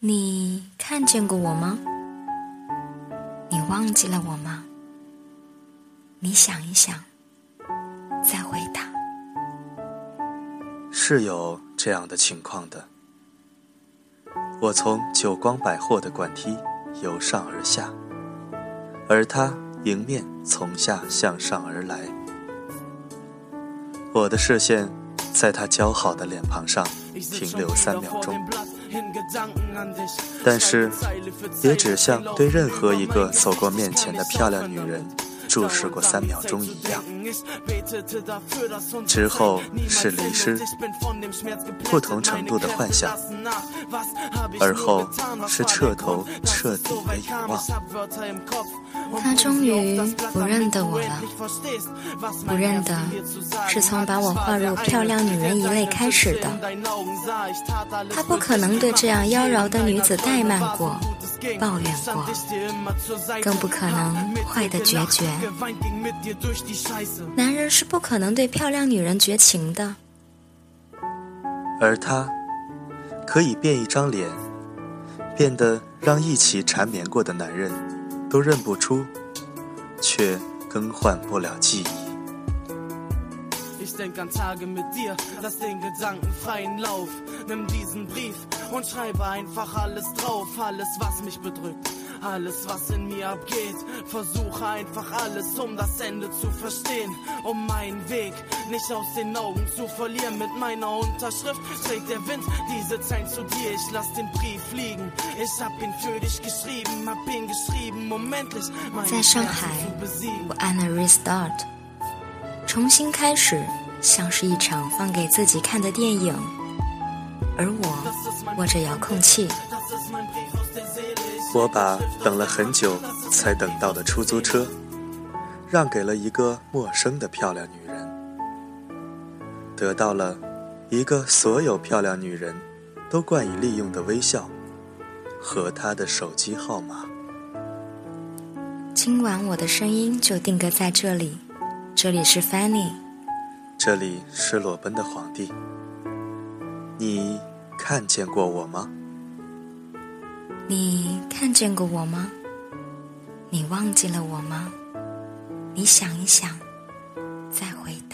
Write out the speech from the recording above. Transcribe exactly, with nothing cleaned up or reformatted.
你看见过我吗？你忘记了我吗？你想一想，再回答。 是有这样的情况的。我从久光百货的管梯由上而下，而他迎面从下向上而来。我的视线在他姣好的脸庞上停留三秒钟，但是也只像对任何一个走过面前的漂亮女人注视过三秒钟一样。之后是离失，不同程度的幻想，而后是彻头彻底的遗忘。 他终于不认得我了，不认得是从把我划入漂亮女人一类开始的。他不可能对这样妖娆的女子怠慢过，抱怨过，更不可能坏得决绝。男人是不可能对漂亮女人绝情的， 而他可以变一张脸，变得让一起缠绵过的男人都认不出，却更换不了记忆。 Ich denk an Tage mit dir, lass den Gedanken freien Lauf. Nimm diesen Brief und schreibe einfach alles drauf. Alles, was mich bedrückt, alles, was in mir abgeht. Versuche einfach alles, um das Ende zu verstehen. Um meinen Weg nicht aus den Augen zu verlieren. Mit meiner Unterschrift trägt der Wind diese Zeilen zu dir. Ich lass den Brief fliegen. Ich hab ihn für dich geschrieben, hab ihn geschrieben, um endlich mein Herz zu besiegen. 我按了 Restart， 重新开始，像是一场放给自己看的电影，而我握着遥控器。 我把等了很久才等到的出租车让给了一个陌生的漂亮女人，得到了一个所有漂亮女人都惯以利用的微笑和她的手机号码。 今晚我的声音就定格在这里，这里是 Fanny， 这里是裸奔的皇帝。你看见过我吗？ 你看见过我吗？你忘记了我吗？你想一想，再回答。